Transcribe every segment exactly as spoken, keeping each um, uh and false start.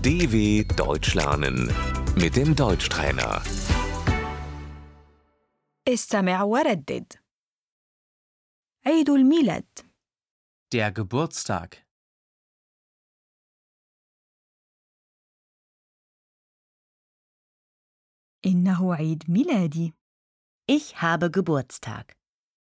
D W Deutsch lernen mit dem Deutschtrainer. استمع وردد. عيد الميلاد. Der Geburtstag. إنه عيد ميلادي. Ich habe Geburtstag.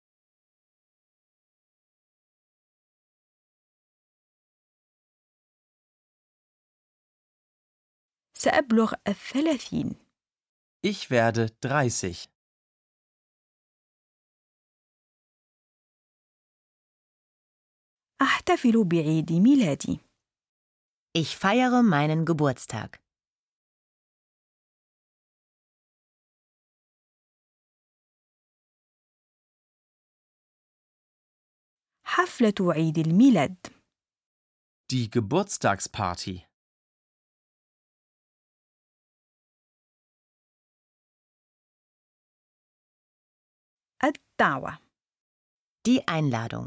سأبلغ الثلاثين. Ich werde dreißig. أحتفل بعيد ميلادي. Ich feiere meinen Geburtstag. حفلة عيد الميلاد. Die Geburtstagsparty. الدعوة. Die Einladung.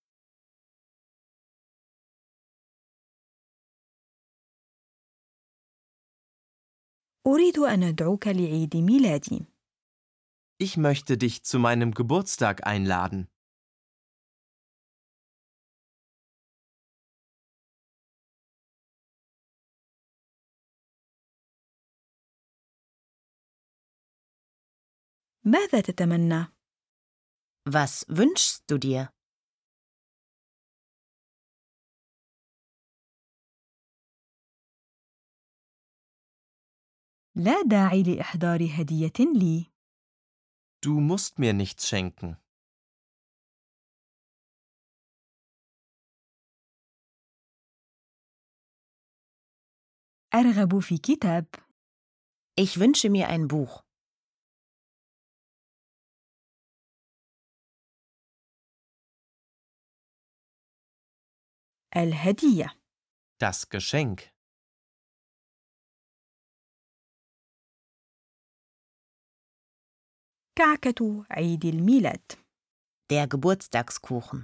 أريد أن أدعوك لعيد ميلادي. Ich möchte dich zu meinem Geburtstag einladen. ماذا تتمنى؟ Was wünschst du dir? لا داعي لإحضار هدية لي. Du musst mir nichts schenken. أرغب في كتاب. Ich wünsche mir ein Buch. الهدية. Das Geschenk. كعكة عيد الميلاد. Der Geburtstagskuchen.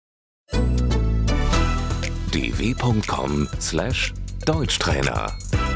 d w punkt com slash Deutschtrainer